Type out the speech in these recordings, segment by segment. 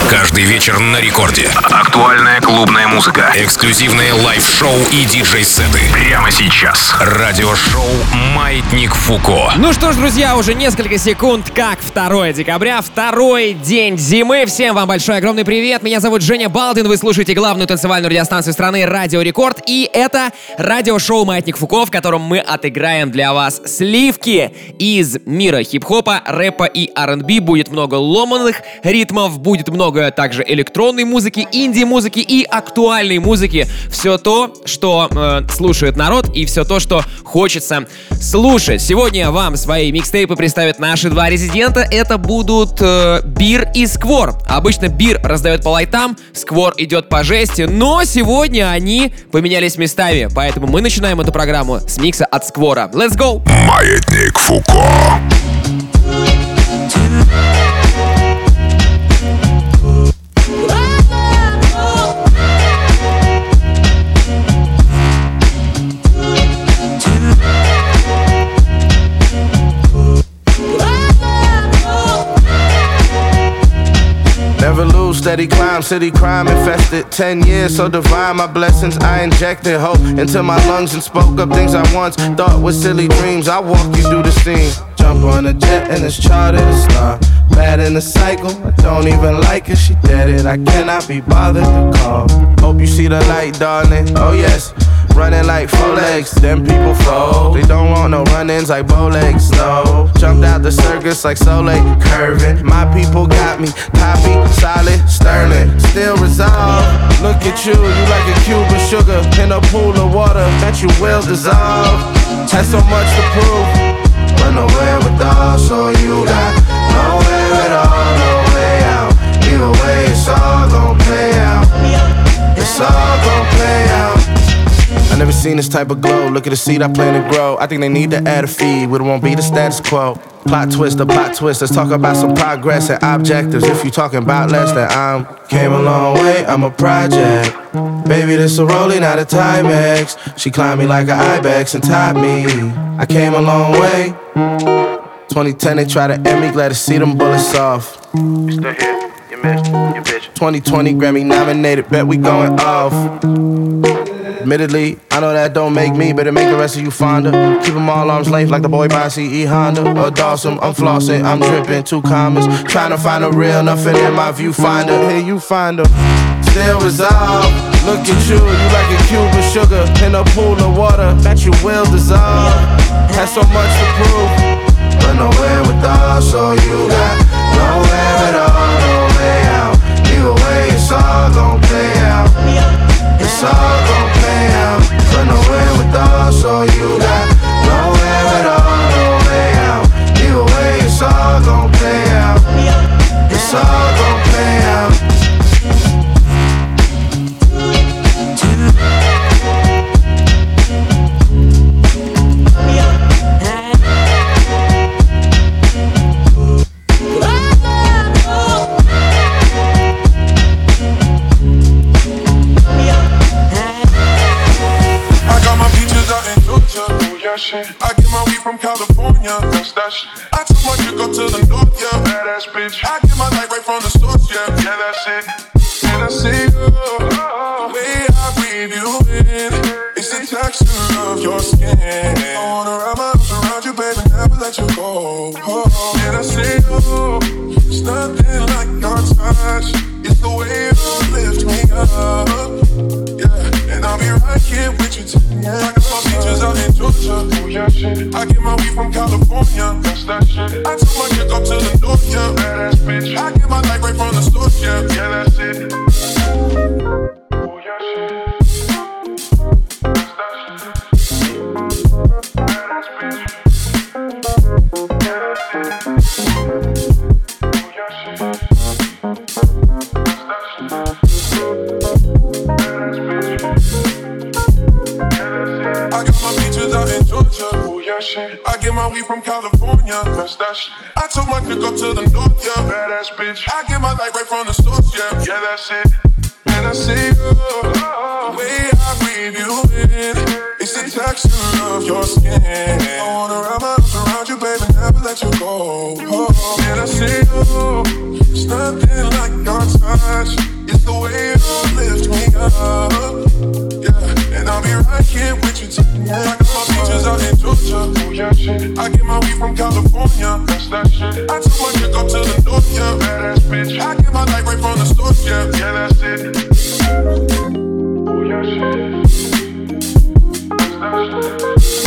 Каждый вечер на рекорде. Актуальная клубная музыка. Эксклюзивные лайв-шоу и диджей-сеты. Прямо сейчас. Радиошоу «Маятник Фуко». Ну что ж, друзья, уже несколько секунд, как 2 декабря, второй день зимы. Всем вам большой огромный привет. Меня зовут Женя Балдин. Вы слушаете главную танцевальную радиостанцию страны «Радио Рекорд». И это радиошоу «Маятник Фуко», в котором мы отыграем для вас сливки из мира хип-хопа, рэпа и R&B. Будет много ломаных ритмов, будет много также электронной музыки, инди-музыки и актуальной музыки. Все то, что слушает народ, и все то, что хочется слушать. Сегодня вам свои микстейпы представят наши два резидента. Это будут Бир и Сквор. Обычно Бир раздает по лайтам, Сквор идет по жести, но сегодня они поменялись местами, поэтому мы начинаем эту программу с микса от Сквора. Let's go! Маятник Фуко. Never lose, steady climb, city crime infested. 10 years, so divine, my blessings. I injected hope into my lungs and spoke up things I once thought were silly dreams. I walk you through the scene. Jump on a jet and it's charted a star. Bad in the cycle, I don't even like her, she dead it. I cannot be bothered to call. Hope you see the light, darling. Oh yes. Running like 4 legs, then people fold. They don't want no run-ins like bow legs, no. Jumped out the circus like Soleil, curving. My people got me, poppy, solid, sterling. Still resolved, look at you like a cube of sugar in a pool of water that you will dissolve. Had so much to prove, but nowhere with all, so you got nowhere at all, no way out. Either way, it's all gon' play out. It's all gon' play out. I never seen this type of glow. Look at the seed I plan to grow. I think they need to add a feed, but it won't be the status quo. Plot twist, a plot twist. Let's talk about some progress and objectives. If you talking about less, then I'm came a long way. I'm a project. Baby, this a rolling, not a Timex. She climbed me like an ibex and tied me. I came a long way. 2010, they try to end me. Glad to see them bullets off. You still here? You missed, you bitch. 2020 Grammy nominated. Bet we going off. Admittedly, I know that don't make me, but it make the rest of you fonder. Keep them all arms length like the boy by CE Honda. Or Dawson, I'm flossing, I'm dripping, 2 commas. Trying to find a real, nothing in my viewfinder. Here you find her, still resolved. Look at you like a cube of sugar in a pool of water that you will dissolve. Had so much to prove, but nowhere with all, so you got nowhere at all, no way out. Either way, it's all gon' play out. It's all gon' play out, but nowhere with all, so you got nowhere at all, no way out. Either way, it's all gon' play out. It's all gon' play out. I get my weed from California, that's that shit. I took my chick up to the north, yeah, badass bitch. I get my light right from the source, yeah, that's it. And I see you, the way I breathe you in, it's the texture of your skin. I wanna wrap my arms around you, baby, never let you go. And I see you, it's nothing like your touch. It's the way you lift me up, yeah. And I'll be right here with you tonight. I got my beaches out in Georgia, oh yeah shit. I get my weed from California, that's that shit. I took my chick up to the north, yeah, badass bitch. I get my light right from the source, yeah, that's it. Oh yeah shit. That's that shit. Badass bitch. That's it. Oh yeah shit. That's that shit. I got my beaches out in Georgia, oh yeah shit. I get my weed from California, that's that shit. I took my chick up to the north, yeah, badass bitch. I get my light right from the source, yeah, that's it. And I see you, the way I breathe you in, it's the texture of your skin. I wanna wrap my arms around you, baby, never let you go. And I see you, it's nothing like your touch. that's that shit. I took my chick up to the north, yeah, badass bitch. I get my light right from the source, yeah, yeah, that's it. Oh yeah, shit. That's that shit.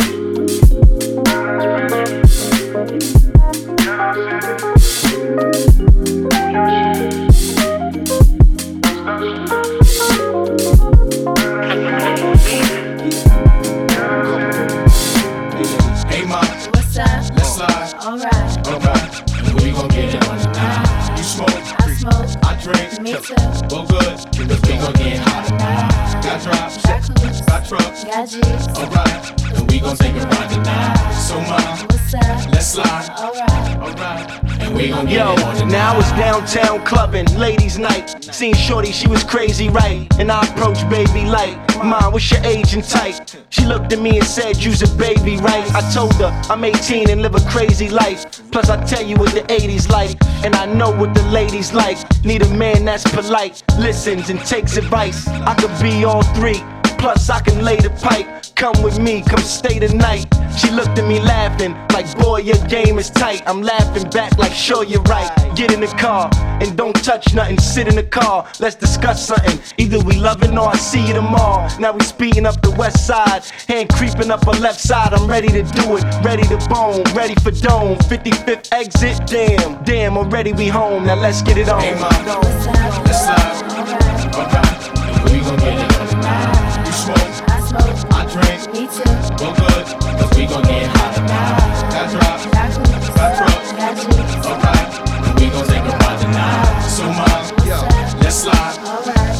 Hey ma, what's up? Let's slide. Alright. Alright. We gon' get it on tonight. You smoke? I smoke. I drink. Me too. Well good, cause we gon' get hot tonight. Got drops. Got coops. Got trucks. Got G's. Alright. And we gon' take a ride tonight. So ma, what's up? Let's slide. Alright. Alright. Yo, now it's downtown clubbing, ladies' night. Seen shorty, she was crazy, right? And I approached baby like, Mom, what's your age and type? She looked at me and said, you's a baby, right? I told her, I'm 18 and live a crazy life. Plus I tell you what the 80s like, and I know what the ladies like. Need a man that's polite, listens and takes advice. I could be all three, plus I can lay the pipe. Come with me, come stay the night. She looked at me laughing, like boy your game is tight. I'm laughing back like sure you're right. Get in the car, and don't touch nothing, sit in the car. Let's discuss something, either we loving or I see you tomorrow. Now we speeding up the west side, hand creeping up her left side. I'm ready to do it, ready to bone, ready for dome. 55th exit, damn, already we home. Now let's get it on. Hey ma, let's slide. Alright, we gon' get it on tonight. You smoke? I smoke. I drink. Me too. Well good, cause we gon' get hot tonight. Got drops. Got coops. Got trucks. Got G's. Alright, and we gon' take a ride tonight. So ma, let's slide. Alright.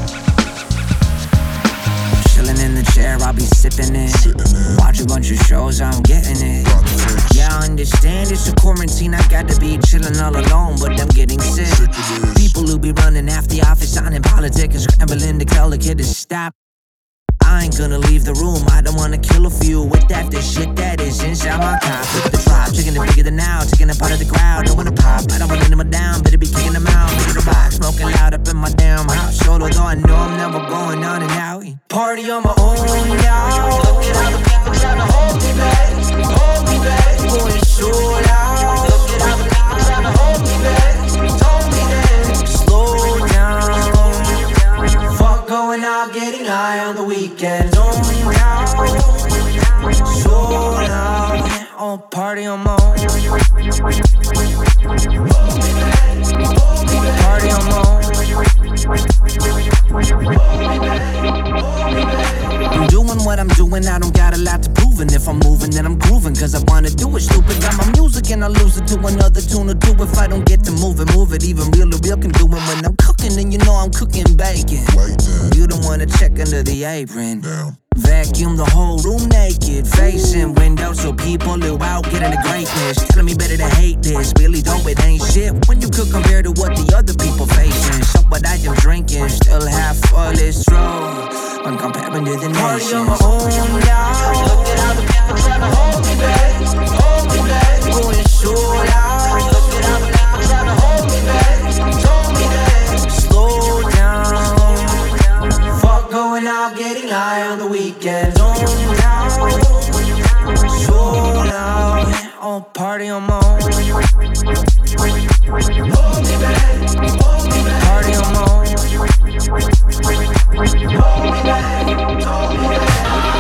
Chillin' in the chair, I'll be sippin' it. Watch a bunch of shows, I'm getting it. Yeah, I understand it's a quarantine, I got to be chillin' all alone, but I'm getting sick. People who be running after the office, signing politics and scrambling to tell the kid to stop. I ain't gonna leave the room, I don't wanna kill a few with that, the shit that is inside my top. Look at the drop, chicken it bigger than now, taking a part of the crowd, don't wanna pop, I don't wanna let them down, better be kicking them out, look at the box, smoking loud up in my damn house, solo though I know I'm never going on and out. Party on my own, y'all, look at how the people trying to hold me back, going so loud, look at how the people trying to hold me back, slow down, fuck going out, getting high on the weekends, only now, so loud, oh party on my own, party on my own. I'm doing what I'm doing, I don't got a lot to prove. And if I'm moving, then I'm grooving, cause I wanna do it. Stupid, got my music and I lose it to another tune or two. If I don't get to move it, even real can do it. When I'm cooking, then you know I'm cooking bacon. You don't wanna check under the apron. Vacuum the whole room naked, facing windows so people who out getting the greatness. Telling me better to hate this, really though it ain't shit when you could compare to what the other people facing. So what I am drinking, still half full is true when comparing to the nations. Party on my own, y'all. Look at how the people tryna hold me back, going so loud. Look at how the people tryna hold me back, slow down. Fuck going out, getting high on the weekends. Only now, so loud. Oh, party on my own. Hold me back, party on my own. Hold me back, hold me back.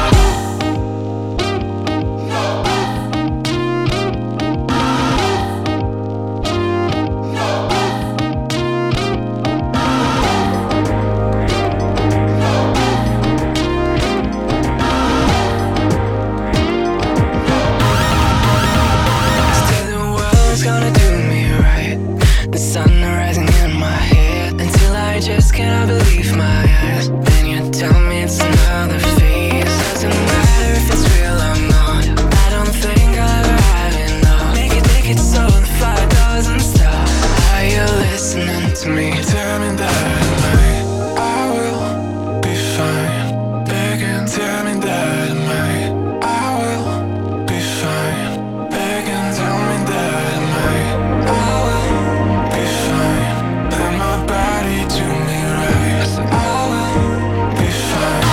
Just cannot believe my eyes. Then you tell me it's another phase. Doesn't matter if it's real or not. I don't think I'll ever have enough. Make it so the fire doesn't stop. Are you listening to me? Tell me that I will be fine. Begging, tell me that I will be fine. Begging, tell me that I will be fine. Let my body do me right. I will be fine.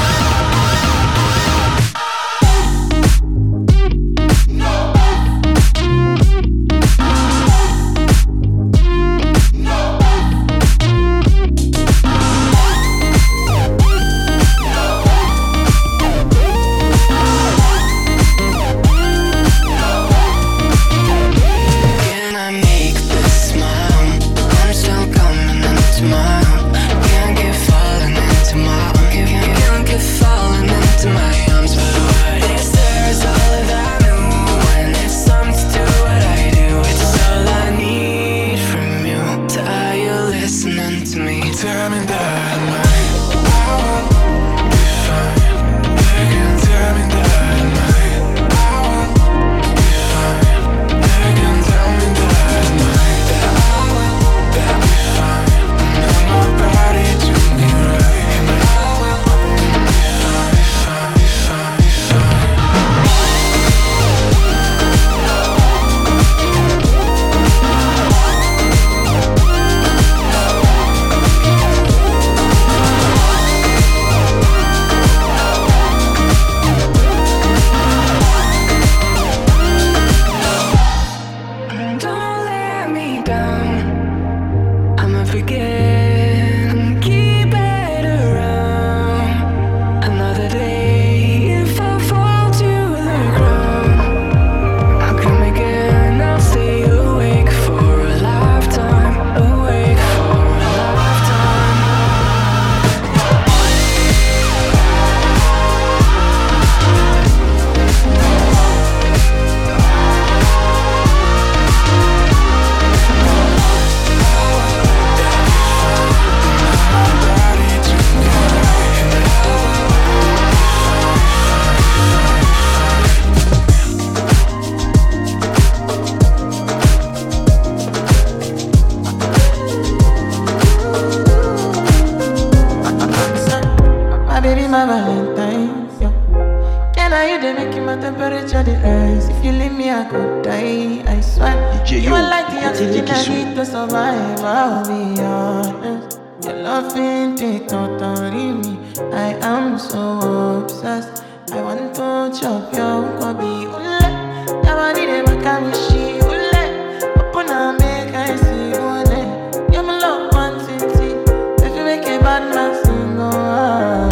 done to me. Tell me that I won't be fine. They can tell me that I won't be fine. They can tell me that I won't be fine. And nobody do me right. And I will be fine, fine, fine. Don't let me down. I'ma forget and keep it around. Another day, if I fall to the ground, I'll come again. I'll stay awake for a lifetime. Awake for a lifetime. My baby, my Valentine. Yeah. Can I you they making my temperature the rise? If you leave me, I could die. I swear. You are like the oxygen I need to survive. I'll be honest. Your love ain't it totally me. I am so obsessed. I want to chop your kobe. Ule, never did it back and she ule. Open up, make I see ule. You're my love one city. If you make a bad man sing, oh.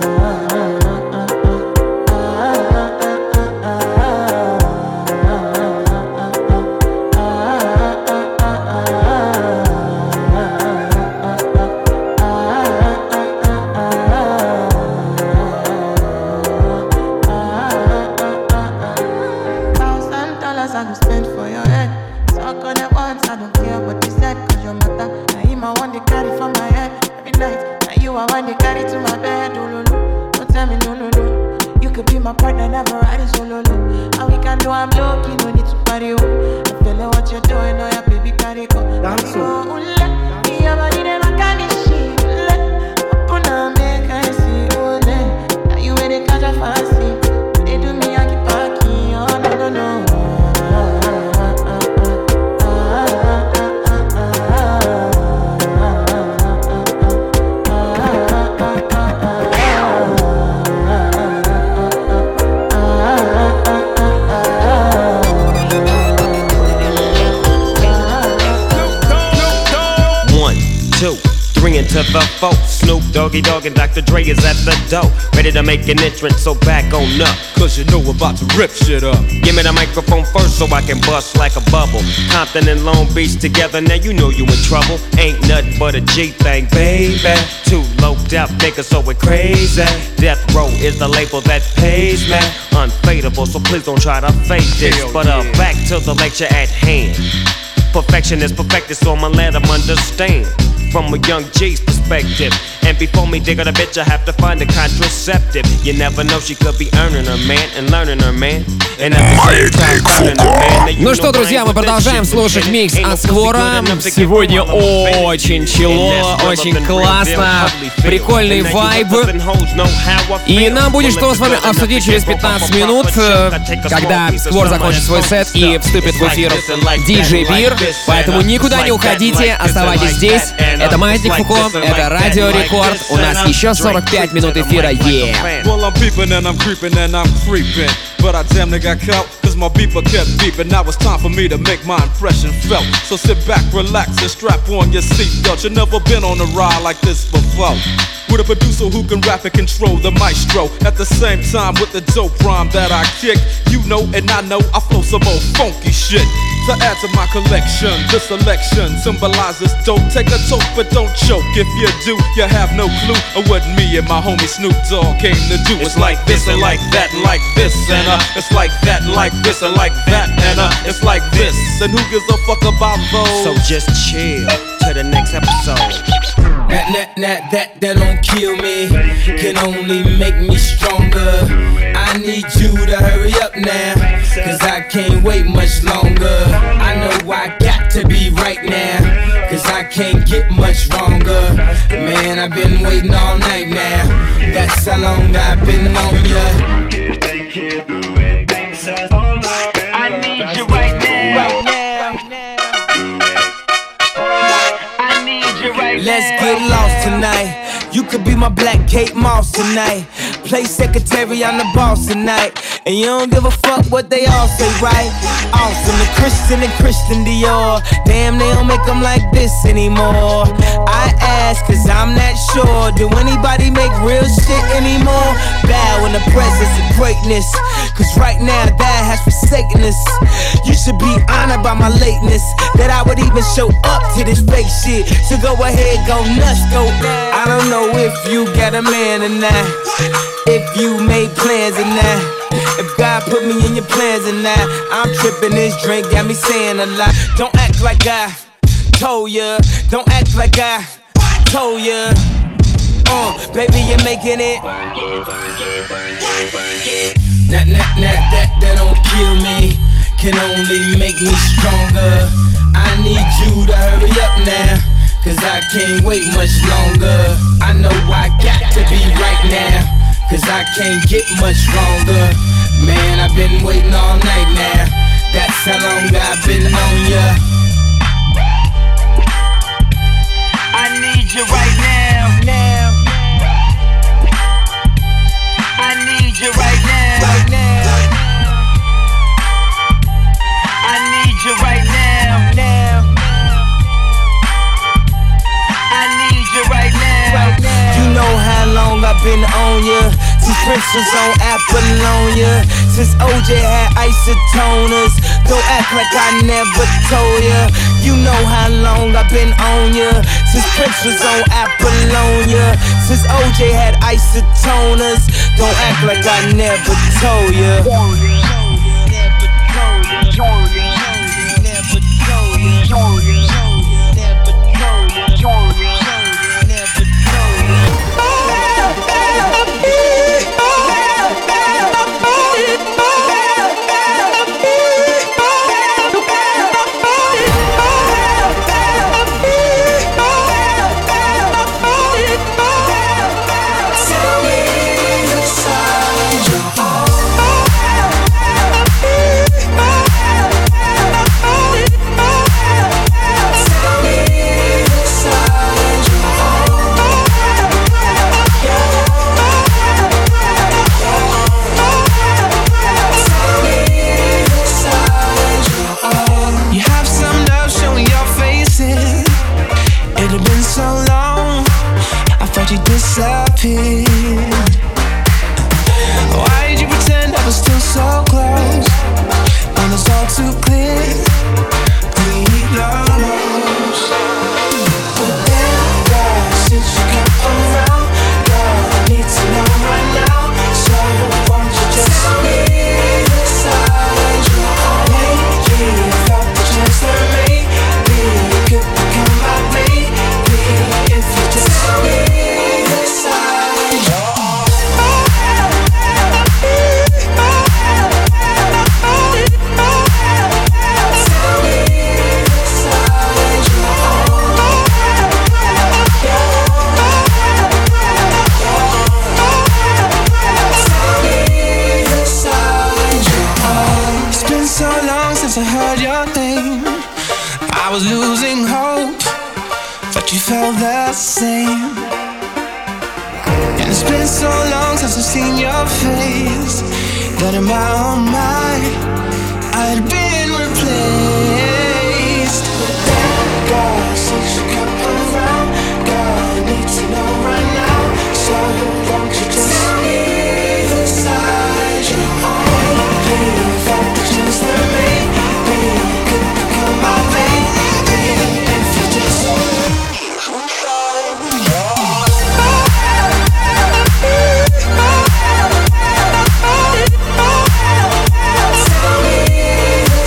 $1,000 I go spend for your head. Talk on it once, I don't care what they said. Cause your matter, now him I want to carry for my head. Every night, now you I want to carry to my bed. Oh, no, no, don't tell me no, no, no. You could be my partner, never riding solo, no. And we can do, I'm lucky, no need to party, oh. I'm feeling what you're doing, oh yeah, baby, carry go. Dance, oh, your body, them, I can't be shit. Open up, make I see, oh, now you ain't a catch a fancy. They do me, I keep packing, oh, no, no, no. To the folk, Snoop Doggy Dogg and Dr. Dre is at the door, ready to make an entrance, so back on up. Cause you know we're about to rip shit up. Give me the microphone first so I can bust like a bubble. Compton and Long Beach together, now you know you in trouble. Ain't nothing but a G thing, baby. Two loped out niggas, so we're crazy. Death Row is the label that pays me. Unfadable, so please don't try to fake this. But back to the lecture at hand. Perfection is perfected, so I'ma let them understand. From a young G's perspective. And before me dig on a bitch, I have to find a contraceptive. You never know, she could be earning her man and learning her man. And at the same time, turning her man. Ну что, друзья, мы продолжаем слушать микс от Сквора. Сегодня очень чилово, очень классно, прикольный вайб. И нам будет что с вами обсудить через 15 минут, когда Сквор закончит свой сет и вступит в эфир DJ Beer. Поэтому никуда не уходите, оставайтесь здесь. Это Маятник Фуко, это Радио Рекорд. У нас еще 45 минут эфира. Well, I'm peeping and I'm creeping and I'm creeping. But I damn near got caught, cause my beeper kept beeping. Now it's time for me to make my impression felt. So sit back, relax, and strap on your seatbelt. You've never been on a ride like this before. With a producer who can rap and control the maestro. At the same time with the dope rhyme that I kick. You know and I know I flow some old funky shit. To add to my collection, this selection symbolizes dope. Take a toke but don't choke. If you do, you have no clue of what me and my homie Snoop Dogg came to do. It's like this and like that and like this and it's like that and like this and like that and it's like this. And who gives a fuck about those? So just chill to the next episode. That don't kill me, can only make me stronger. I need you to hurry up now, cause I can't wait much longer. I know I got to be right now, cause I can't get much wronger. Man, I've been waiting all night now, that's how long I've been on ya. They can't do anything, so I need you right now. I need you right now. Let's get lost tonight. You could be my Black Kate Moss tonight. Play secretary, I'm the boss tonight. And you don't give a fuck what they all say, right? Awesome, the Christian and Christian Dior. Damn, they don't make them like this anymore. I ask, cause I'm not sure. Do anybody make real shit anymore? Bow in the presence of greatness, cause right now that has forsaken us. You should be honored by my lateness, that I would even show up to this fake shit. So go ahead, go nuts, go. I don't know if you got a man or not, if you made plans or not, if God put me in your plans or not. I'm tripping, this drink got me saying a lot. Don't act like I told ya, don't act like I told ya. Baby, you're making it. That don't kill me, can only make me stronger. I need you to hurry up now, cause I can't wait much longer. I know I got to be right now, cause I can't get much longer. Man, I've been waiting all night now, that's how long I've been on ya. I need you right now, I need you right now, I need you right now, I need you right now. You know how long I've been on ya, since Prince was on Apollonia, since OJ had isotoners. Don't act like I never told ya. You know how long I've been on ya, since Prince was on Apollonia, since OJ had isotoners. Don't act like I never told ya. Why did you pretend I was still so close when it's all too clear? We lost. But then, girl, since you come around, girl, I need to know right now. So won't you just tell me the signs you're on? Lately, I felt the chance that maybe you could become my baby if you just tell me the signs. I heard your name, I was losing hope, but you felt the same. And it's been so long since I've seen your face, that in my own mind I'd been replaced. But then, girl, since you come around, girl, I need to know right now. So won't you just tell me the side you're on? Please, got the chance to make. Tell me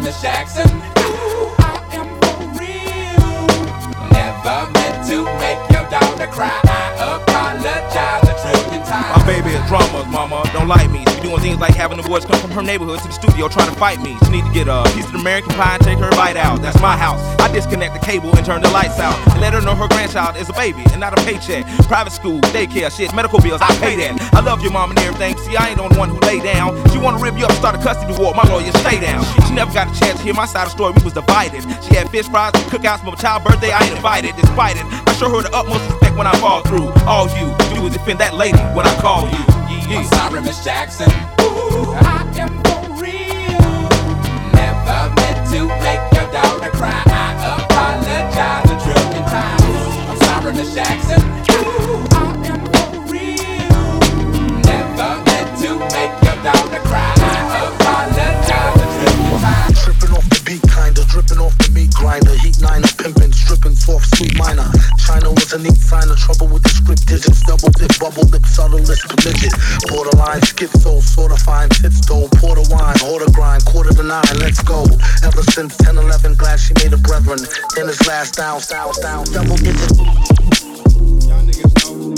Miss Jackson. Ooh, I am for real. Never meant to make your daughter cry. I apologize a trillion times. My baby is drama, mama, don't like me. She doing things like having the boys come from her neighborhood to the studio trying to fight me. She need to get a piece of the American pie and take her bite out. That's my house. I disconnect the cable and turn the lights out and let her know her grandchild is a baby and not a paycheck. Private school, daycare, shit, medical bills, I pay that. I love your mom and everything. See, I ain't the one who lay down. She wanna rip you up, start a custody war. My lawyer, stay down. She never got a chance to hear my side of the story. We was divided. She had fish fries, cookouts for my child's birthday. I ain't invited. Despite it, I show her the utmost respect when I fall through. All you do is defend that lady when I call you. I'm sorry, Miss Jackson. Ooh, I am for real. Never meant to make your daughter cry. I apologize a trillion times. I'm sorry, Miss Jackson. Ooh, I am for real. Never meant to make your daughter cry. I apologize a trillion times. Tripping off the beat, kinda dripping off the meat grinder. Heat niner, pimping, stripping, soft, sweet minor. China was a neat signer, trouble with the script digits, double dip, bubble lip, subtlest midget. Borderline schizo, sorta fine, tits though, porter wine, order grind, 8:45, let's go. Ever since 10-11, glad she made a brethren. Then his last down, double digit. Y'all niggas know.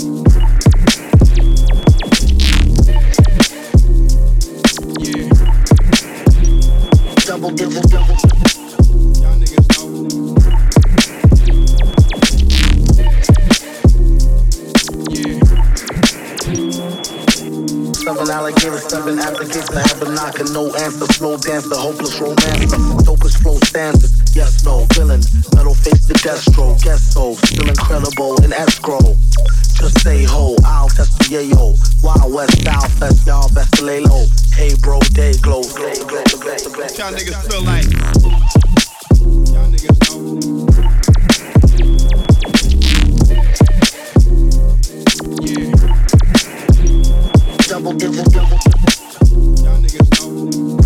Yeah. Double digit, double digit. Y'all niggas know. Seven alligators, 7 applications, I have a knock and no answer. Slow dancer, hopeless romancer. Dopest flow stanzas, yes, no, villain. Metal face the Destro, guess so. Still incredible in escrow. Just say ho, I'll test the yayo. Wild West, South Fest, y'all best to lay low. Hey bro, day glow. Y'all niggas feel like. Y'all niggas know. Yeah. Double digit, double digit. Y'all niggas know.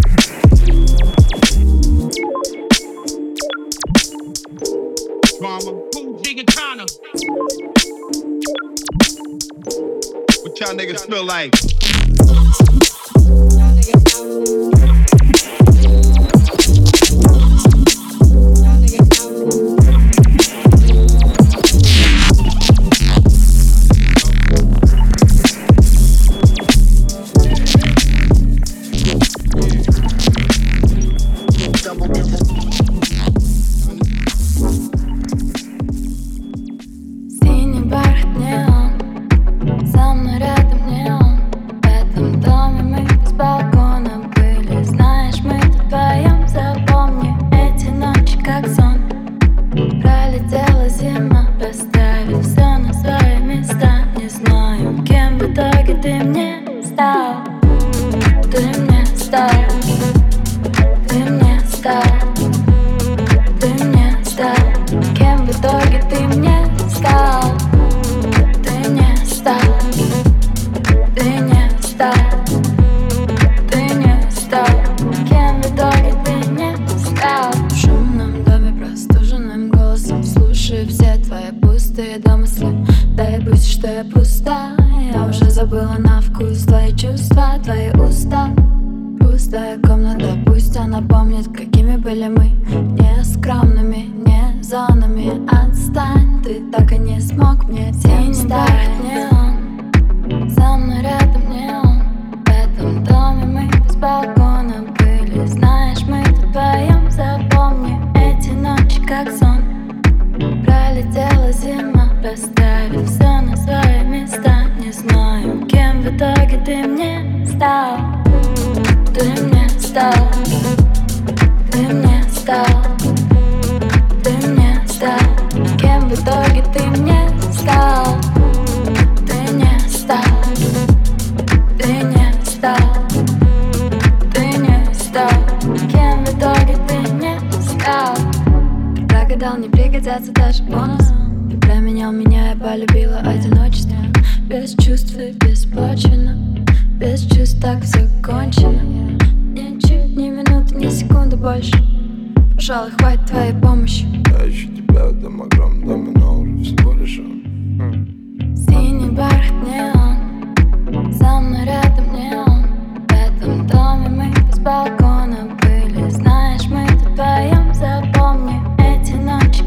Drama. Cool Jig and Connor. What y'all niggas feel like? Балкона были, знаешь,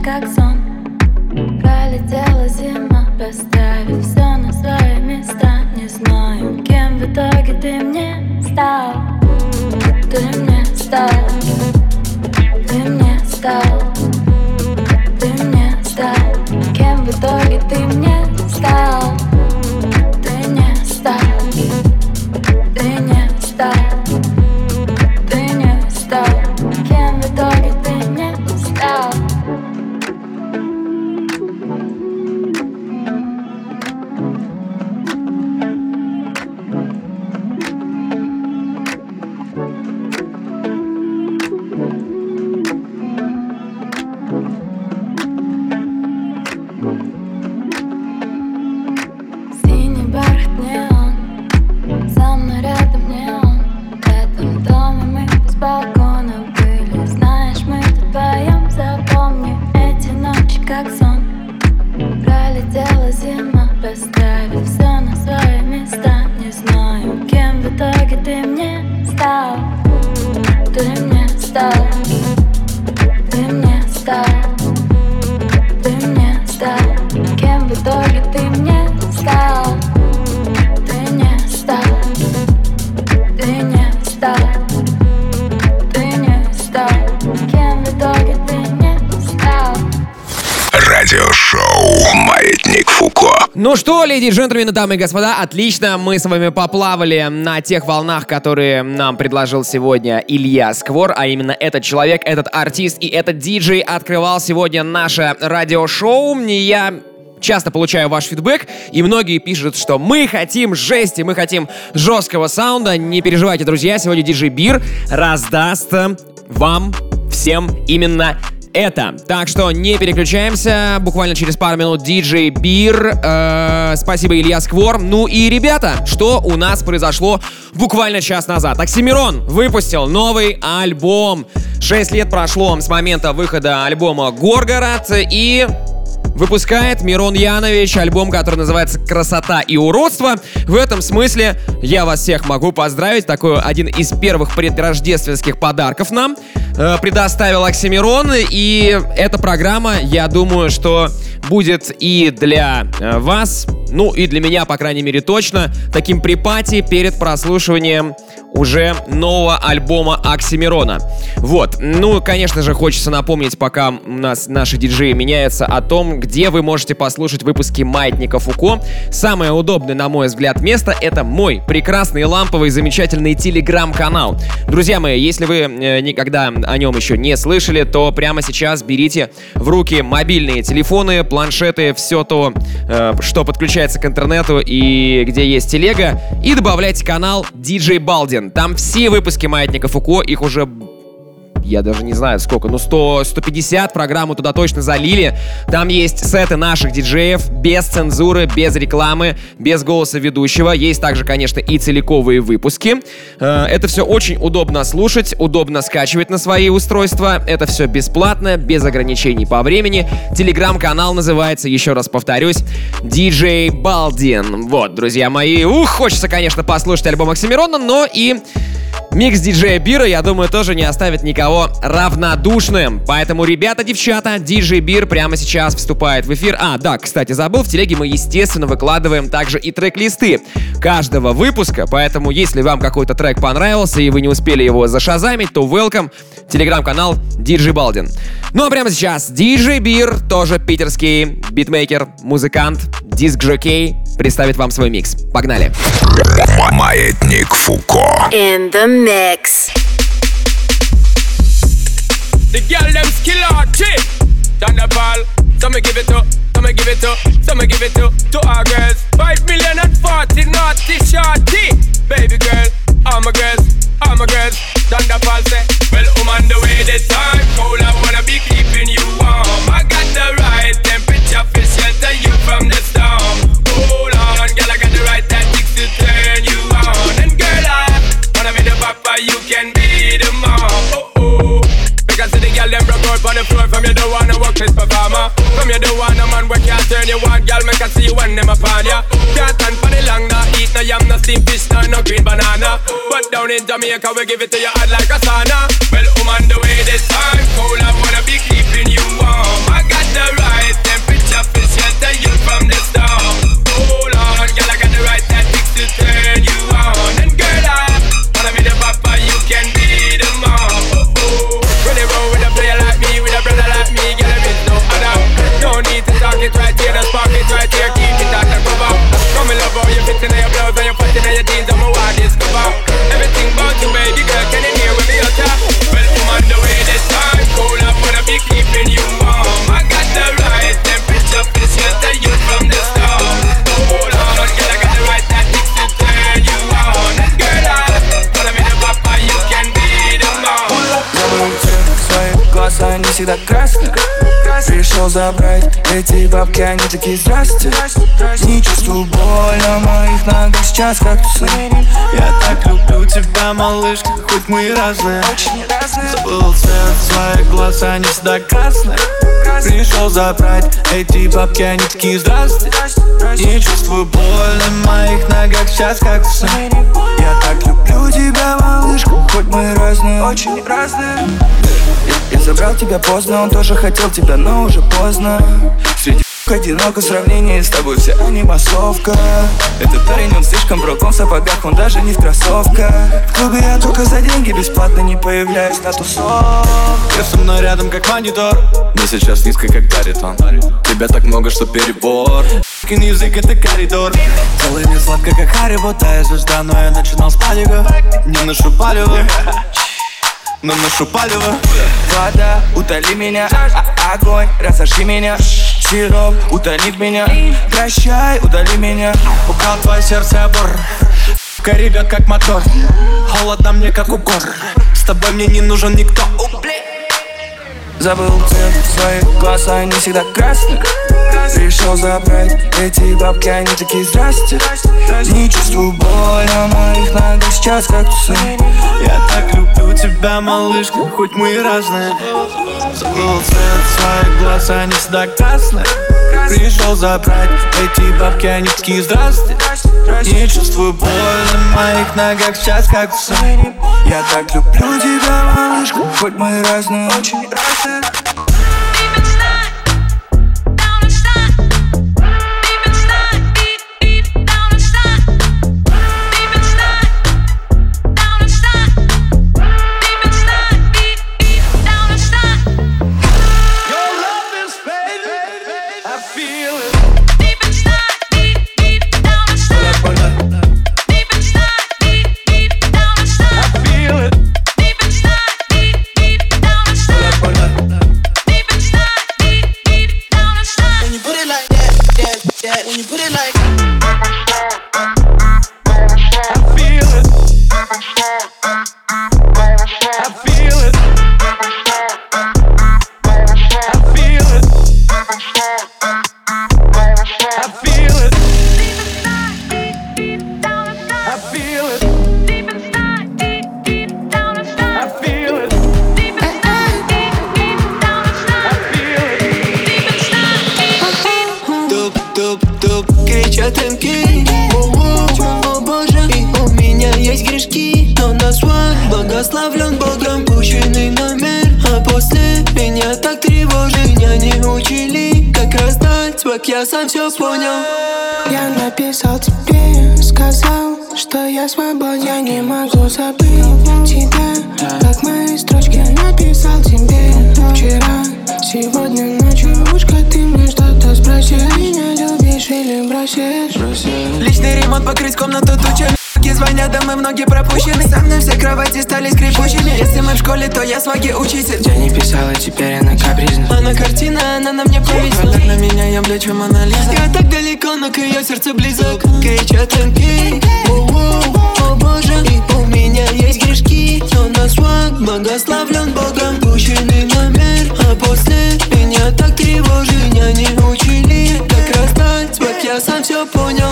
как сон. Пролетела зима, поставив все на свои места. Не знаю, кем в итоге ты мне стал. Ты мне стал. Ты мне стал. Ты мне стал. Кем в итоге ты мне стал. Ты не стал. Ты не стал. Ты не стал. Кем в итоге ты мне стал. Синий бархат неон, со мной рядом не он. В этом доме мы без балкона были. Знаешь, мы тут вдвоем, запомни эти ночи как сон. Пролетела зима, поставив все на свои места. Не знаю, кем в итоге ты мне стал. Ты мне стал. Ты мне стал. Ты мне стал. Кем в итоге ты мне стал. Ты не стал. Ты не стал. Ты не стал. Кем в итоге ты не стал. Радиошоу «Маятник Фуко». Ну что, леди и джентльмены, дамы и господа, отлично, мы с вами поплавали на тех волнах, которые нам предложил сегодня Илья Сквор, а именно этот человек, этот артист и этот диджей открывал сегодня наше радиошоу. Я часто получаю ваш фидбэк, и многие пишут, что мы хотим жести, мы хотим жесткого саунда. Не переживайте, друзья, сегодня диджей Бир раздаст вам всем именно это. Так что не переключаемся. Буквально через пару минут диджей Бир. Спасибо, Илья Сквор. Ну и, ребята, что у нас произошло буквально час назад? Оксимирон выпустил новый альбом. 6 лет прошло с момента выхода альбома «Горгород», и выпускает Мирон Янович альбом, который называется «Красота и уродство». В этом смысле я вас всех могу поздравить. Такой один из первых предрождественских подарков нам предоставил Оксимирон. И эта программа, я думаю, что будет и для вас, ну и для меня, по крайней мере, точно, таким припати перед прослушиванием уже нового альбома Оксимирона. Вот. Ну, конечно же, хочется напомнить, пока у нас наши диджеи меняются, о том, где вы можете послушать выпуски «Маятника Фуко». Самое удобное, на мой взгляд, место — это мой прекрасный, ламповый, замечательный телеграм-канал. Друзья мои, если вы никогда о нем еще не слышали, то прямо сейчас берите в руки мобильные телефоны, планшеты, все то, что подключается к интернету и где есть телега, и добавляйте канал DJ Baldin. Там все выпуски «Маятника Фуко», их уже, я даже не знаю сколько, 100-150 программу туда точно залили. Там есть сеты наших диджеев, без цензуры, без рекламы, без голоса ведущего. Есть также, конечно, и целиковые выпуски. Это все очень удобно слушать, удобно скачивать на свои устройства. Это все бесплатно, без ограничений по времени. Телеграм-канал называется, еще раз повторюсь, DJ Baldin. Вот, друзья мои. Хочется, конечно, послушать альбом Оксимирона, но и микс диджея Бира, я думаю, тоже не оставит никого равнодушным. Поэтому, ребята, девчата, диджей Бир прямо сейчас вступает в эфир. Да, кстати, забыл, в телеге мы, естественно, выкладываем также и трек-листы каждого выпуска. Поэтому, если вам какой-то трек понравился и вы не успели его зашазамить, то welcome, телеграм-канал DJ Baldin. Ну а прямо сейчас диджей Бир, тоже питерский битмейкер, музыкант, диск-жокей, представит вам свой микс. Погнали! Маятник Фуко. In the mix. The girl them skill hard chick. Thunderball. Some give it to, some give it to, some give it to our girls. 5 million and 40 naughty shorty. Baby girl, all my girls, all my girls. Thunderball say, well, on the way this time. Cold, I wanna be keeping you warm. I got the right temperature for shelter you from the storm. Hold on, girl, I got the right tactics to turn you on. And girl, I wanna be the papa, you can be the mom. Because the girl them broke out on the floor. From you don't wanna work this performer. From you don't want a man where can't turn you on. Girl, make I see you when them upon ya. Can't stand for the long, no eat no yam, no steamed fish, no green banana. But down in Jamaica we give it to you hot like a sauna. Well, on the way this time. Cold, I wanna be keeping you warm. I got всегда красная. Пришел забрать эти бабки, они такие здрасте. Не чувствую боль на моих ногах сейчас, как ты. Я так люблю тебя, малышка, хоть мы и разные. Забыл цвет своих глаз, они всегда красные. Пришел забрать эти бабки, они такие здрасте. Не чувствую боль на моих ногах сейчас, как ты. Я так люблю тебя, малышка, хоть мы и разные. Очень разные. Я забрал тебя поздно, он тоже хотел тебя, но уже поздно. Среди одиноко в сравнении с тобой вся не массовка. Этот парень, он слишком брок, он в сапогах, он даже не в кроссовках. В клубе я только за деньги бесплатно не появляюсь на тусовках. Ты со мной рядом как монитор, мне сейчас низко как баритон. Тебя так много, что перебор. Язык это коридор. Целый мне сладко как Харибо, тая звезда, но я начинал с паника. Не ношу палево, но ношу палево. Вода, утоли меня, огонь, разожги меня. Сироп, утонит меня. Прощай, удали меня. Украл твое сердце обор, ребят как мотор. Холодно мне как укор, с тобой мне не нужен никто. Забыл цвет своих глаз, они всегда красные. Пришел забрать эти бабки, они такие здрасте. Не чувствую боль на моих ногах сейчас, как ты. Я так люблю тебя, малышка, хоть мы и разные. Забыл цвет своих глаз, они всегда красные. Пришел забрать эти бабки, они такие здрасте. Не чувствую боль на моих ногах сейчас, как ты. Я так люблю тебя, малышка, хоть мы и разные. Очень разные. Благословлен Богом пущенный номер. А после меня так тревожит. Меня не учили, как раздать звук, я сам все понял. Я написал тебе, сказал, что я свободен. Я не могу забыть тебя, как мои строчки написал тебе вчера. Сегодня ночью ушко ты мне что-то спроси. Меня любишь или бросишь? Личный ремонт покрыть комнату тучами. Звонят домой, многие пропущены. Со мной все кровати стали скрипучими. Если мы в школе, то я сваги учитель. Я не писала, теперь она капризна. Она картина, она на мне повисла. Так на меня, я блечу Мона Лиза. Я так далеко, но к ее сердцу близок. Кричат танки, о боже. И у меня есть грешки, но на сваг благословлен Богом пущенный номер. А после меня так тревожит. Меня не учили, как раздать звук, я сам все понял.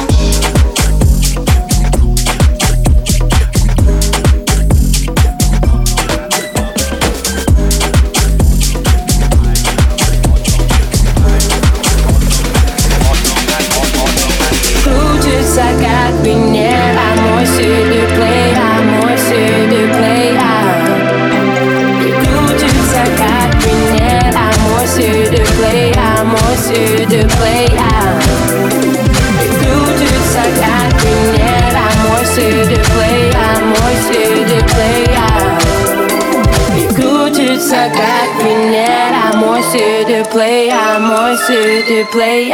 Как Венера, moi c'est de play, moi c'est de play. Крутится как Венера, moi c'est de play, moi c'est de play. Крутится как Венера, moi c'est de play, moi c'est de play. Крутится как Венера, moi c'est de play, moi c'est de play.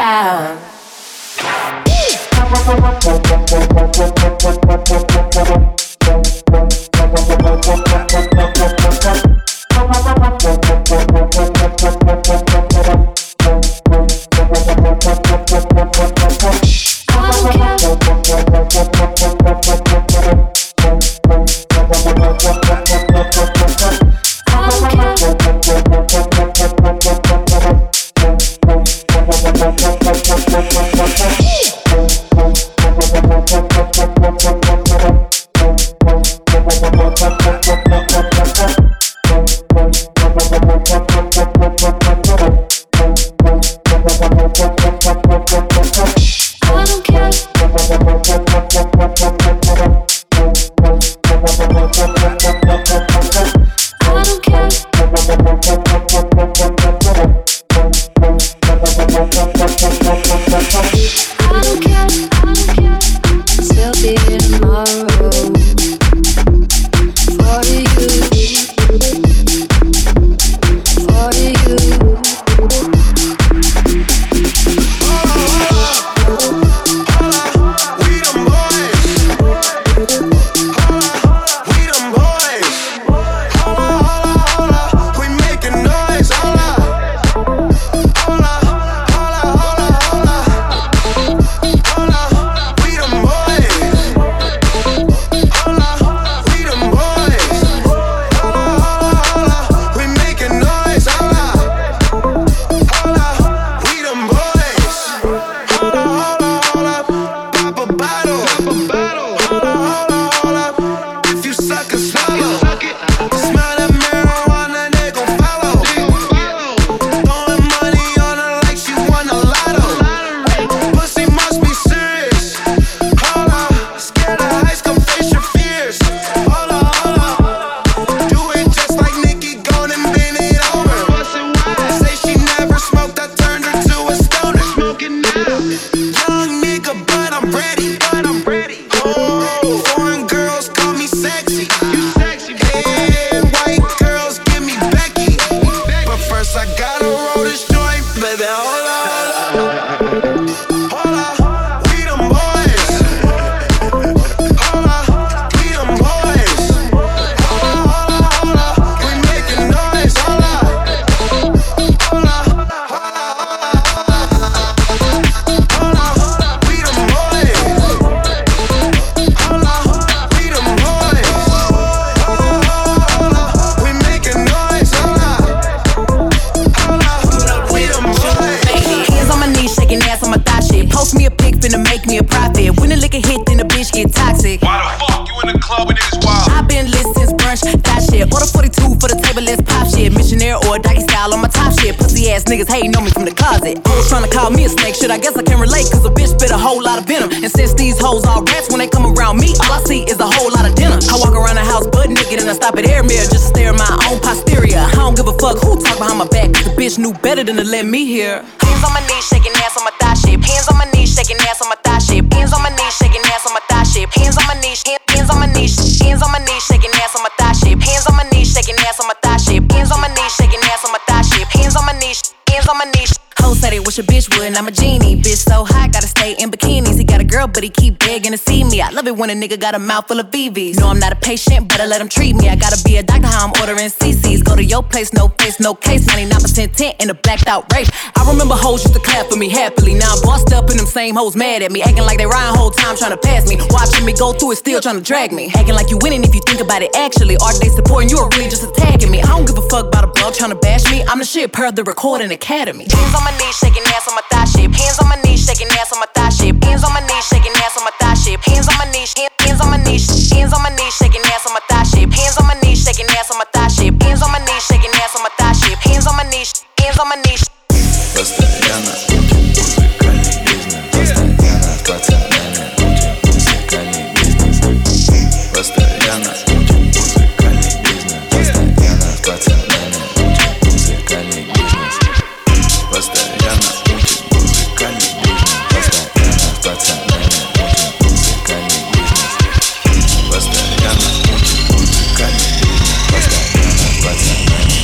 shit. Order 42 for the table, let's pop shit. Missionaire or doggy style on my top shit. Pussy ass niggas hating on me from the closet. Hoes trying to call me a snake, shit, I guess I can relate. Cause a bitch spit a whole lot of venom. And since these hoes all rats, when they come around me, all I see is a whole lot of dinner. I walk around the house butt naked and I stop at air mirror just to stare at my own posterior. I don't give a fuck who talk behind my back, cause the bitch knew better than to let me hear. Hands on my knees, shaking ass on my thigh shape. Hands on my knees, shaking ass on my thigh shape. Hands on my knees, shaking ass on my thigh shape. Hands on my knees, hands on my knees, hands on my knees, shaking ass on my thigh shape. Hands on my knees, shaking ass on my thigh shape. Hands on my knees, shaking ass on my thigh shape. Hands on my knees, hands on my knees. Hoes say they wish a bitch would, and I'm a genie. Bitch so hot, gotta stay in bikinis. He got a girl, but he keep begging to see me. I love it when a nigga got a mouth full of BVs. No, I'm not a patient, better let him treat me. I gotta be a doctor, how I'm ordering CCs. Go to your place, no face, no case. 99% tint in a blacked out race. I remember hoes used to clap for me happily. Now I'm bossed up and them same hoes mad at me. Acting like they riding whole time trying to pass me. Watching me go through it, still trying to drag me. Acting like you winning if you think about it actually. Are they supporting you or really just attacking me? I don't give a fuck about a blog trying to bash me. I'm the shit per the Recording Academy. Hands on my knees, shaking ass on my thigh shape. Hands on my knees, shaking ass on my thigh shape. Hands on my knees, shaking ass on my thigh shape. Hands on my knees, hands on my knees, hands on my knees, shaking ass on my thigh shape. Hands on my knees, shaking ass on my thigh shape. Hands on my knees, shaking ass on my thigh shape. Hands on my knees, hands on my knees. Постоянно музыкальный бизнес. Постоянно пацанами музыкальный бизнес. Постоянно музыкальный бизнес. Постоянно пацанами музыкальный бизнес. Постоянно музыкальный бизнес. Постоянно пацанами музыкальный бизнес. Постоянно музыкальный бизнес. Постоянно пацанами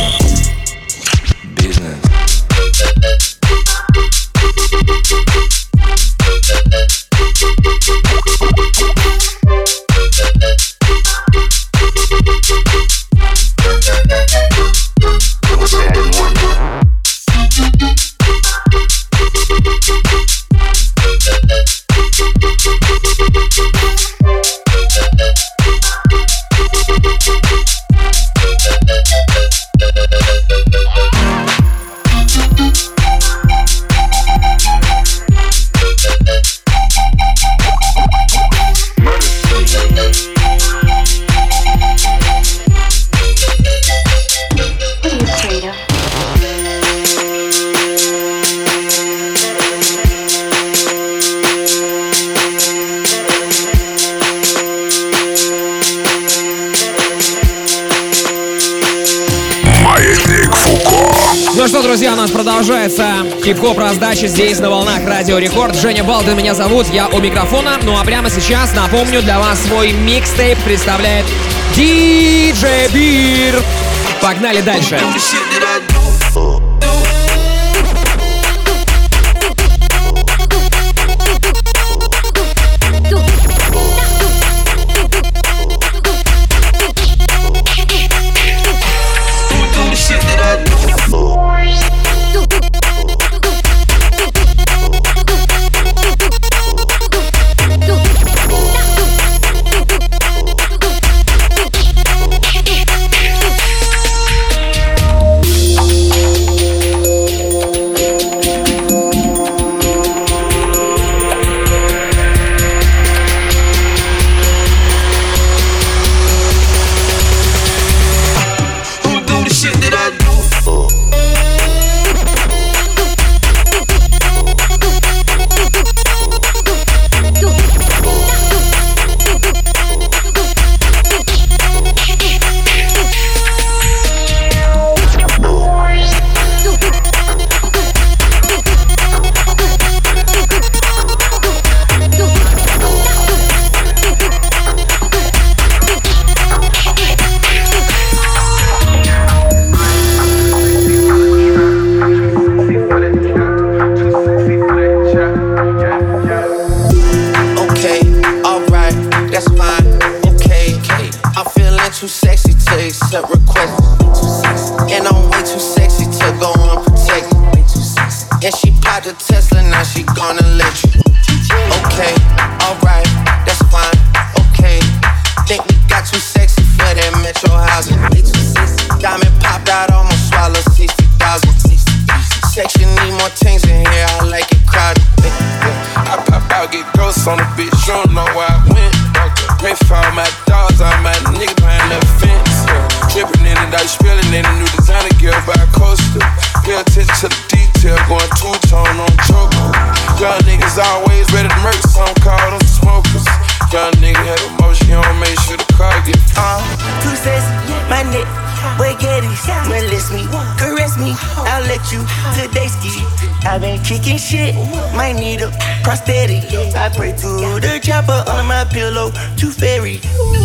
бизнес. Ну что, друзья, у нас продолжается хип-хоп раздача здесь на волнах Радио Рекорд. Женя Балдин меня зовут, я у микрофона. Ну а прямо сейчас, напомню, для вас свой микстейп представляет DJ Beer. Погнали дальше. the Tesla, now she gonna let you. Okay, alright, that's fine, okay. Think we got too sexy for that metro housing. Diamond popped out, almost swallowed 60,000. Section need more things in here, I like it crowded. I pop out, get ghosts on the bitch, you don't know where I went. Pray for all my dogs, all my niggas behind the fence. Princess, my neck, spaghettis, molest me, caress me, I'll let you today ski. I've been kicking shit, might need a prosthetic. I pray to the chopper under my pillow, to fairy.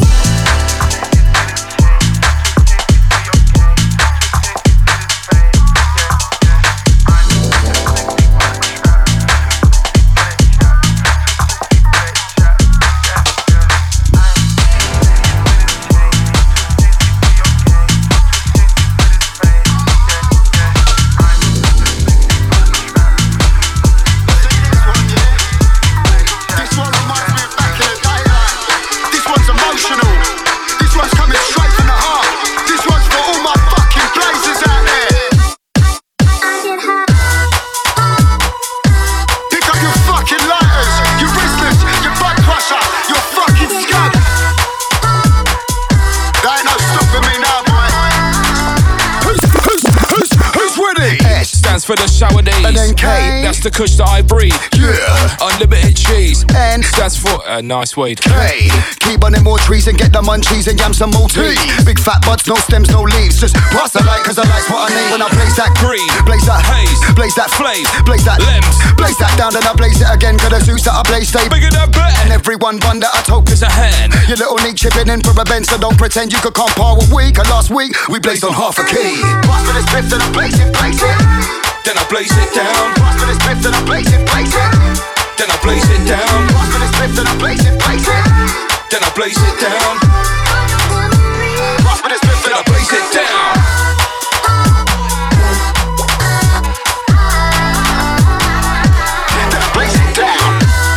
For the shower days, and then K, that's the kush that I breathe. Yeah, unlimited cheese. And stands for nice weed. K, keep on them more trees and get the munchies and yam some more tea. Big fat buds, no stems, no leaves. Just pass the light, cause I like what I need. When I blaze that green, blaze that haze, blaze that flame, blaze that lems, blaze that down, then I blaze it again. Cause the suits that I blaze stay bigger than better. And everyone one that I told is a hand. Your little neat chipping in for a bend, so don't pretend you could compare what we. Cause last week we blazed on half a key. Pass for this fifth and I blaze it, blaze it. Then I blaze it down. Pass for this fifth and I blaze it, blaze it. Then I blaze it down. Pass for this fifth and I blaze it, blaze it. Then I blaze it down. Pass for this fifth and I blaze it down. Then I blaze it down.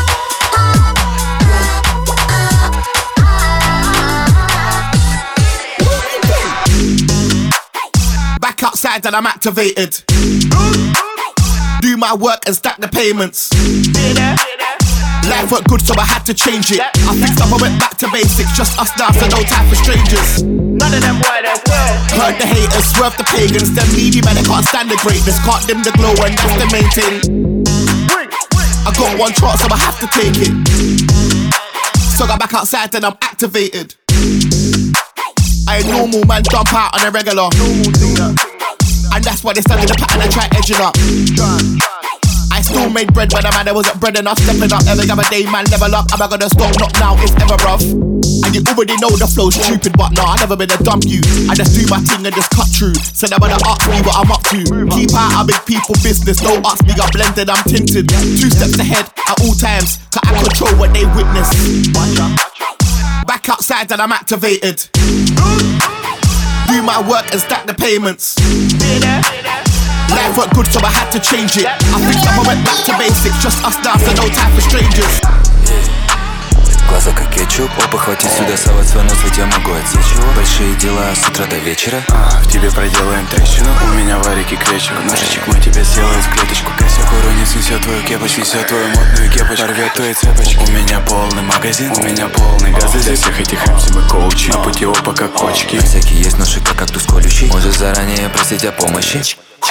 Back outside and I'm activated. Do my work and stack the payments. Life weren't good, so I had to change it. I fixed up, I went back to basics. Just us now, so no time for strangers. None of them white as well. Heard the haters, swerve the pagans. Them needy man, they can't stand the greatness. Can't dim the glow, and that's the main thing. I got one chance, so I have to take it. So got back outside, then I'm activated. I ain't normal, man, jump out on a regular. And that's why they study the pattern and try edging up. I still made bread when the man there wasn't bread enough. Stepping up every other day, man, level up. Am I gonna stop? Not now, it's ever rough. And you already know the flow's stupid, but nah, I never been a dumb you. I just do my thing and just cut through. So never to ask me what I'm up to. Keep out of big people business, don't ask me, I'm blended, I'm tinted. 2 steps ahead at all times, cause I control what they witness. Back outside and I'm activated. Do my work and stack the payments. Life weren't good, so I had to change it. I fixed up, I went back to basics. Just us now, so no time for strangers. Глаза как кетчуп, опа, хвати сюда, совать свой нос, ведь я могу отсечь его. Большие дела с утра до вечера. В тебе проделаем трещину, у меня варики кречек. Ножичек мой тебя сделает в клеточку. Косяк уронит, снесет твою кепочку, снесет твою модную кепочку, порвет твои цепочки. У меня полный магазин, у меня полный газ. Для всех этих MC мы коучи, на пути опа как кочки. На всякий есть ножик, как кактус колющий. Можешь заранее просить о помощи.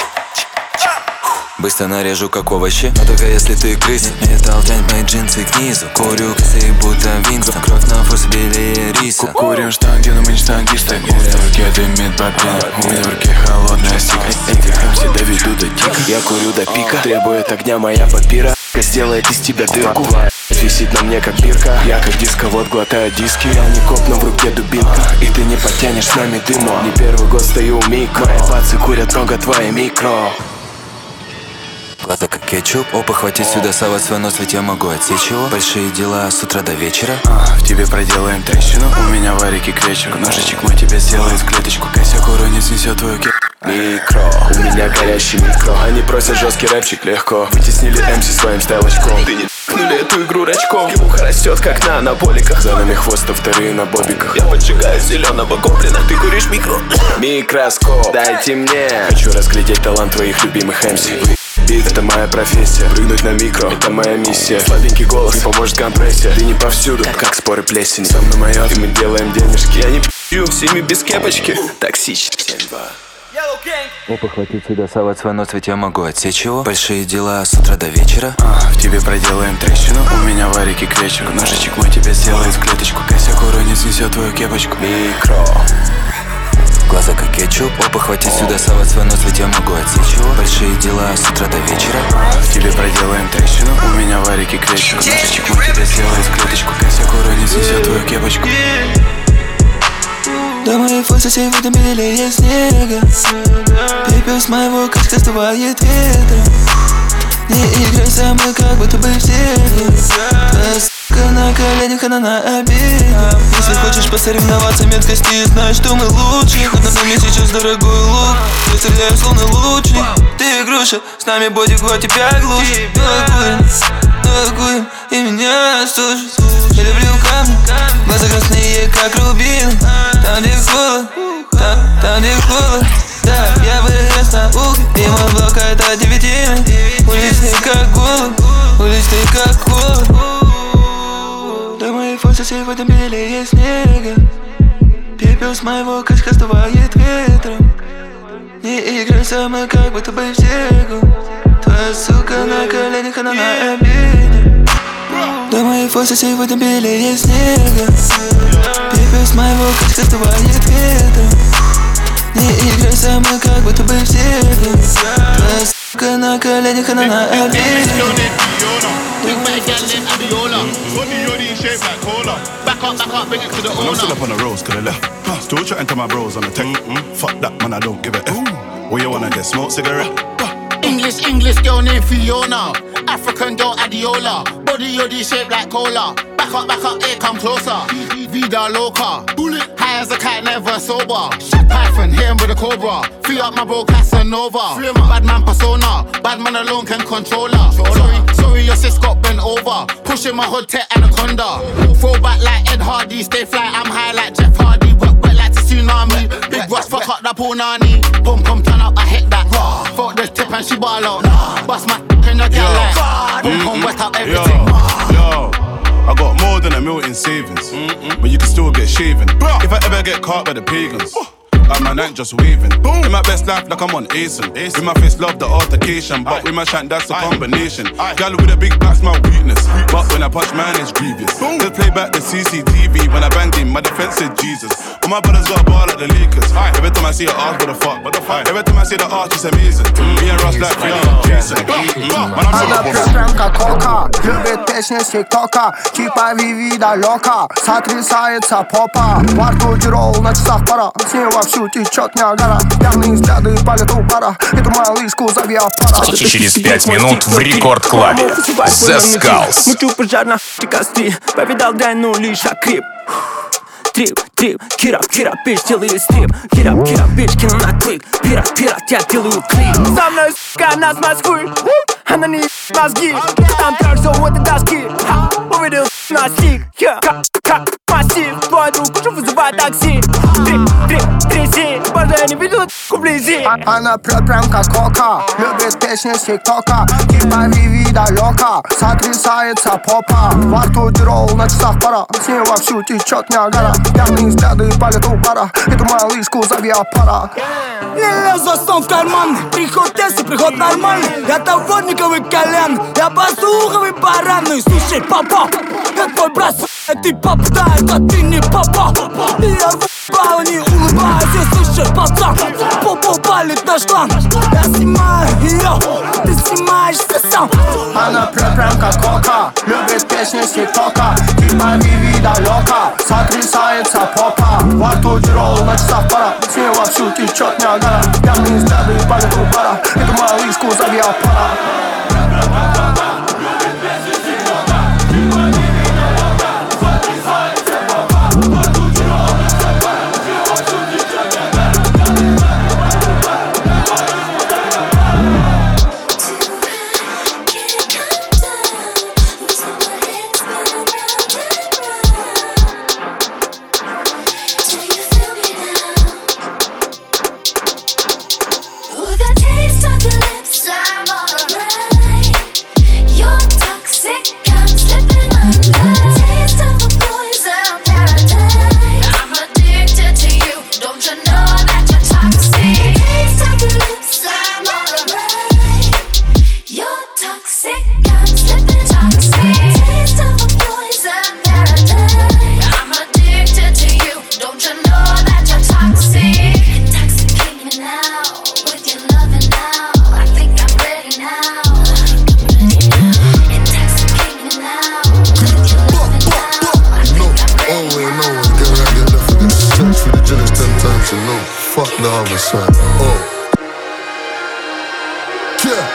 Быстро нарежу как овощи, но только если ты крыса. Металл тянет мои джинсы к низу. Курю косы, будто Винстон. Кровь на вкус белее риса. Курим штанги, но мы не штангисты. У меня в руке дымит бобин, у меня в руке холодная стика. Этих хамси доведу до тика. Я курю до пика, требует огня моя папира. Сделает из тебя дырку. Висит на мне как бирка. Я как дисковод глотаю диски. Я не коп, но в руке дубинка. И ты не потянешь с нами дыма. Не первый год стою у микро. Мои пацы курят много твои микро. Глаза как кетчуп, опа, хватит сюда, совать свой нос, ведь я могу отсечь его. Большие дела с утра до вечера. В тебе проделаем трещину, у меня варики кречек. Ножичек мой тебя сделает в клеточку. Косяк уронит, снесет твою микро. У меня горящий микро. Они просят жесткий рэпчик легко. Вытеснили MC своим стайлочком. Ты не ткнули эту игру рачком. Юха растет как на анаболиках. За нами хвост, а вторые на бобиках. Я поджигаю зеленого гоблина. Ты куришь микро. Микроскоп, дайте мне. Хочу разглядеть талант твоих любимых MC. Бит, это моя профессия. Прыгнуть на микро, это моя миссия. Слабенький голос, не поможет компрессия. Ты не повсюду, как споры плесени. Со мной моё, и мы делаем денежки. Я не пью, всеми без кепочки. Токсичный. Опа, хватит сюда, совать свой нос, ведь я могу отсечь его. Большие дела с утра до вечера. В тебе проделаем трещину, у меня варики кречек. Ножичек мой тебя сделает в клеточку. Косяк уронит, снесет твою кепочку. Микро. Опа, хватит сюда совать свой нос, ведь я могу отсечь его. Большие дела с утра до вечера. Тебе проделаем трещину, у меня варики клещик. Мальчик, мы тебя сделаем в клеточку. Косяк уронит, снесет твою кепочку. До моей фотосессии в этом белее снега. Пепел с моего качка сдувает ветром. Не играй со мной, как будто бы в теле. Твоя сука на коленях, она на обеде. Если хочешь посоревноваться меткости, знаешь, что мы лучше. Хоть на мне сейчас дорогой лук, я стреляю словно лучник. Ты игруша, с нами бодик, вот тебя глушит. Ногуем, и меня слушай. Я люблю камни, глаза красные, как рубин. Там, где холод, там, где холод. Да, я вырос на угле, и мой блок это девятины. Уличный как голубь, уличный как холод. До моей фотосессии в этом белее снега. Пепел с моего качка сдувает ветром. Не играй со мной, как будто бы в Сегу. Твоя сука на коленях, она на обеде. До моей фотосессии в этом белее снега. Пепел с моего качка сдувает ветром. Не играй со мной, как будто бы в Сегу. Твоя сука на коленях, она на обеде. When I'm still up on the roads, could I left? Still chatting to my bros on the tech. Fuck that, man, I don't give a F. Where you wanna get smoked cigarette? English girl named Fiona. African girl Adiola. Body yoddy shaped like cola. Back up, here come closer. Vida loca. Bullet. High as a kite, never sober. Shit Python, hit him with a cobra. Free up my bro Casanova. Bad man persona. Bad man alone can control her. Sorry, your sis got bent over. Pushing my hood tech anaconda. Throw back like Ed Hardy. Stay fly, I'm high like Jeff Hardy. Wet like the tsunami. Big Ross, fuck up that punani. Boom, come turn up, I hit that. Fuck this tip and she ball out. Bust my in your girl like. Boom, come wet up everything. Yo, I got more than $1 million in savings, but you can still get shaven. If I ever get caught by the pagans, my night just waving. In my best life, like I'm on Asen. With my face, love the altercation, but with my shank, that's a combination. Gal with a big back's my weakness, but when I punch, man, it's grievous. Just play back the CCTV when I banged him. My defense said Jesus. All my brothers got a ball like the Lakers. Every time I see her arch, what the fuck? Every time I see the arch, it's amazing. Me and Ross like Jason. Она прям как кока, любит песни с тиктока. Типа Виви далека, сотрясается попа. Во рту тирол, на часах пора. С ней вовсю течет Ниагара. Пьяные взгляды палят у пара. Эту малышку зови аппарат. Через 5 минут в Рекорд-клабе The Skulls. Мучу пожар на кости. Повидал дрянь, ну лишь окреп. Трип, кира, бич, делаю стрип. Кира, бич, кину на клик. Пират, я делаю клип. Со мной, сука, нас маскуй. Она не мозги. Там трак, все вот и доски. Увидел на стик. Как массив. Твой друг, уже вызывай такси. Тряси, боже, я не видел вблизи. Она прям как кока, любит песни с тиктока. Типа Виви далека, сотрясается попа. Во рту тирол, на часах пора. С ней вовсю течет Ниагара. Пьяные взгляды палят у пара. Эту малышку зови аппарат. Я лез за стол в карман. Приход тест, приход нормальный. Я товарниковый колен. Я послуховый баран. Ну и слушай, папа, я твой брат, ты папа, да, это ты не папа. Я в не улыбаюсь, я слышишь, пацан. Попу палит наш клан. Я снимаю ее, ты снимаешься сам. Она прям как кока, любит песни с тиктока. Типа Виви далека, сотрясается попа. Во рту тирол, на часах пора. С ней вовсю течет Ниагара. Пьяные взгляды палят у пара. Эту малышку зови аппарат. With a taste on your lips, I'm all no, fuck the other side. Oh. Yeah.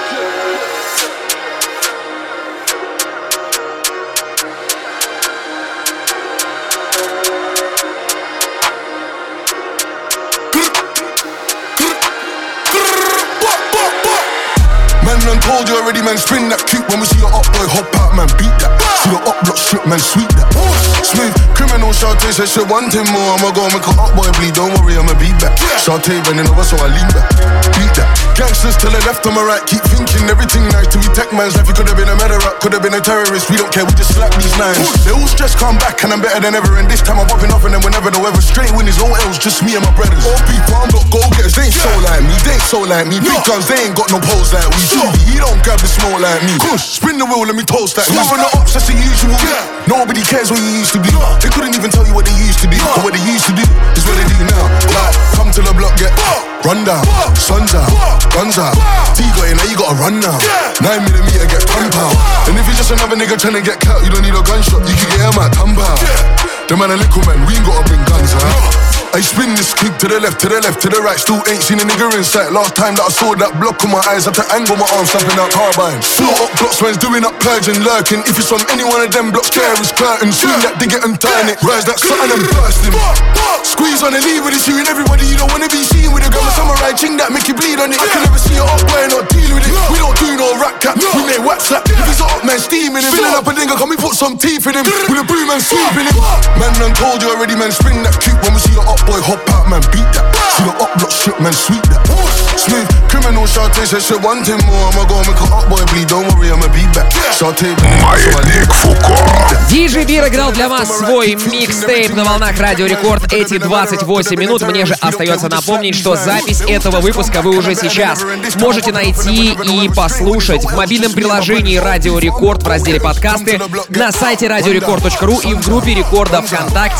Man done told you already, man, spin that cute. When we see your up boy hop out, man, beat that. See your up block strip, man, sweet that. Smooth, criminal, Shantae said she want him more. I'ma go make her up boy bleed, don't worry, I'ma beat back. Shantae bending over, so I lean back. Beat that. Gangsters to the left, on my right, keep thinking everything nice. To be tech man's life, he could have been a murderer, could have been a terrorist. We don't care, we just slap these nines. They all stress come back, and I'm better than ever. And this time I'm popping off, and then whenever the weather straight win is all else, just me and my brothers. All people, I'm not go-getters, they ain't so like me, they ain't so like me. Big guns, they ain't got no pose like we do. He don't grab the smoke like me. Spin the wheel, let me toast that. Who's on the ops, that's the usual. Nobody cares what you used to be. They couldn't even tell you what they used to be. But what they used to do is what they do now. Like, come to the block, get run down. Sun's out, guns out. T got in, now you gotta run now. 9mm, get £10. And if you're just another nigga trying to get cut, you don't need a gunshot. You can get him at £10. The man a little man, we ain't gotta bring guns out. I spin this clip to the left, to the left, to the right. Still ain't seen a nigga in sight. Last time that I saw that block on my eyes, had to angle my arms, slapping out carbine. Float up blocks, man's doing up purging, lurking. If it's on any one of them blocks, there is curtain. Swing that, dig it and turn it. Rise that something and bursting. Squeeze on the lead with it, shooting everybody. You don't wanna be seen with a gun. A samurai ching that make you bleed on it. I can never see it up, why not deal with it? We don't do no rat cap, we make whack slap. If he's up, man, steaming him. Filling up a nigga, can we put some teeth in him? With a broom and sweeping him. Man, done told you already, man, spring that cute. When we see your up boy hop out, man, beat that. See your up block strip, man, sweet that. Smooth, criminal, Shantae said she want him more. I'ma go make her up boy bleed, don't worry, I'ma beat back. Shantae Маятник Фуко. DJ Beer играл для вас свой микстейп на волнах Радио Рекорд эти 28 минут. Мне же остается напомнить, что запись этого выпуска вы уже сейчас можете найти и послушать в мобильном приложении Радио Рекорд в разделе подкасты, на сайте radiorecord.ru и в группе рекорда ВКонтакте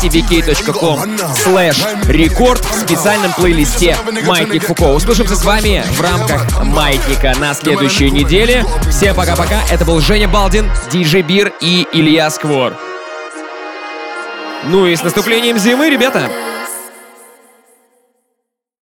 vk.com/рекорд в специальном плейлисте Маятник Фуко. Услышимся с вами в рамках Маятника на следующей неделе. Всем пока-пока. Это был Женя Балдин, DJ Beer и Илья Сквор. Ну и с наступлением зимы, ребята!